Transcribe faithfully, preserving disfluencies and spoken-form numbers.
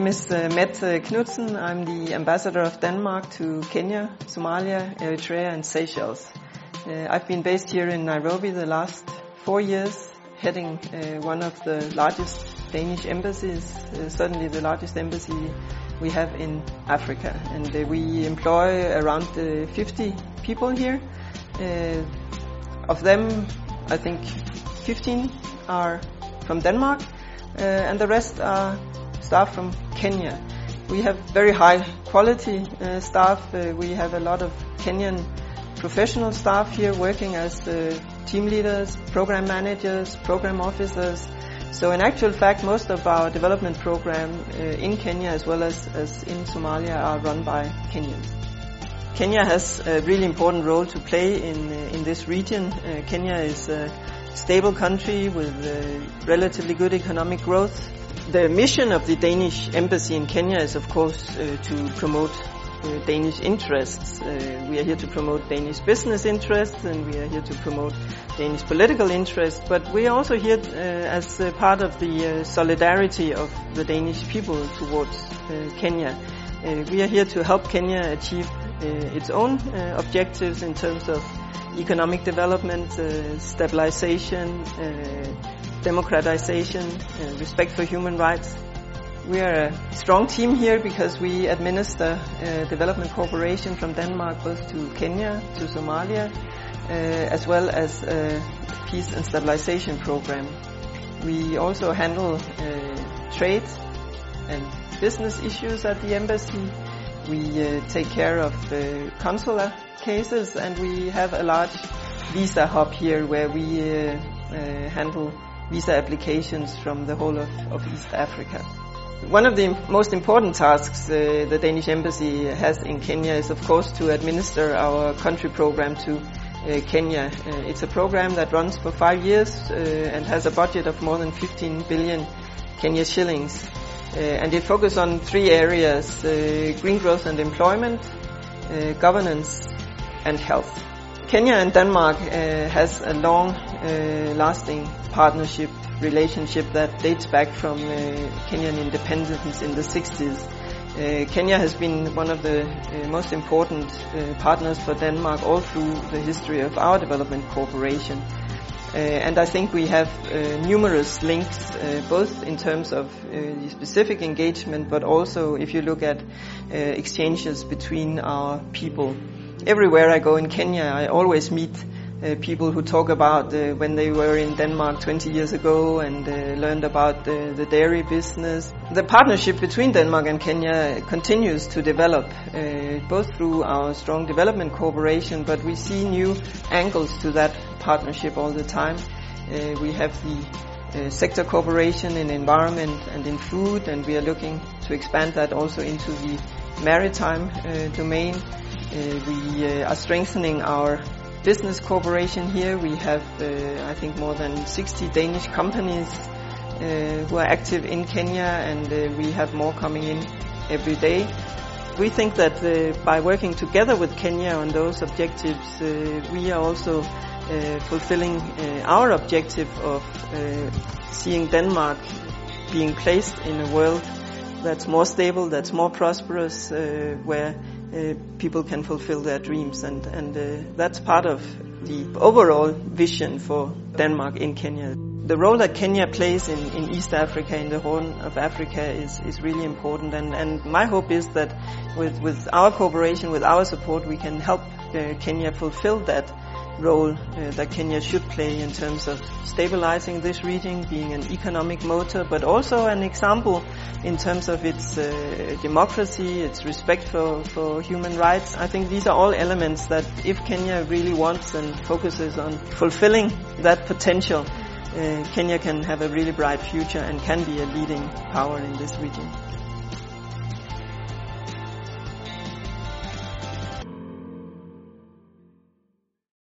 name is uh, Mette Knudsen. I'm the ambassador of Denmark to Kenya, Somalia, Eritrea and Seychelles. Uh, I've been based here in Nairobi the last four years, heading uh, one of the largest Danish embassies, uh, certainly the largest embassy we have in Africa. And uh, we employ around uh, fifty people here. Uh, of them, I think fifteen are from Denmark, uh, and the rest are staff from Kenya. We have very high quality uh, staff. Uh, we have a lot of Kenyan professional staff here working as uh, team leaders, program managers, program officers. So in actual fact, most of our development program uh, in Kenya as well as, as in Somalia are run by Kenyans. Kenya has a really important role to play in, uh, in this region. Uh, Kenya is a stable country with uh, relatively good economic growth. The mission of the Danish embassy in Kenya is of course uh, to promote uh, Danish interests. Uh, we are here to promote Danish business interests and we are here to promote Danish political interests, but we are also here uh, as uh, part of the uh, solidarity of the Danish people towards uh, Kenya. Uh, we are here to help Kenya achieve uh, its own uh, objectives in terms of economic development, uh, stabilization, uh, democratization, uh, respect for human rights. We are a strong team here because we administer uh, development cooperation from Denmark both to Kenya, to Somalia, uh, as well as a peace and stabilization program. We also handle uh, trade and business issues at the embassy. We uh, take care of uh, consular cases and we have a large visa hub here where we uh, uh, handle visa applications from the whole of, of East Africa. One of the most important tasks uh, the Danish embassy has in Kenya is of course to administer our country program to uh, Kenya. Uh, it's a program that runs for five years uh, and has a budget of more than fifteen billion Kenya shillings. Uh, and it focuses on three areas, uh, green growth and employment, uh, governance and health. Kenya and Denmark uh, has a long uh, lasting partnership relationship that dates back from uh, Kenyan independence in the sixties. Uh, Kenya has been one of the uh, most important uh, partners for Denmark all through the history of our development cooperation. Uh, and I think we have uh, numerous links, uh, both in terms of uh, the specific engagement, but also if you look at uh, exchanges between our people. Everywhere I go in Kenya, I always meet uh, people who talk about uh, when they were in Denmark twenty years ago and uh, learned about the, the dairy business. The partnership between Denmark and Kenya continues to develop, uh, both through our strong development cooperation, but we see new angles to that partnership all the time. Uh, we have the uh, sector cooperation in environment and in food, and we are looking to expand that also into the maritime uh, domain. Uh, we uh, are strengthening our business cooperation here. We have, uh, I think, more than sixty Danish companies uh, who are active in Kenya, and uh, we have more coming in every day. We think that uh, by working together with Kenya on those objectives, uh, we are also uh, fulfilling uh, our objective of uh, seeing Denmark being placed in a world that's more stable, that's more prosperous, uh, where uh, people can fulfill their dreams. And, and uh, that's part of the overall vision for Denmark in Kenya. The role that Kenya plays in, in East Africa, in the Horn of Africa, is, is really important. And, and my hope is that with, with our cooperation, with our support, we can help uh, Kenya fulfill that role uh, that Kenya should play in terms of stabilizing this region, being an economic motor, but also an example in terms of its uh, democracy, its respect for, for human rights. I think these are all elements that if Kenya really wants and focuses on fulfilling that potential, uh, Kenya can have a really bright future and can be a leading power in this region.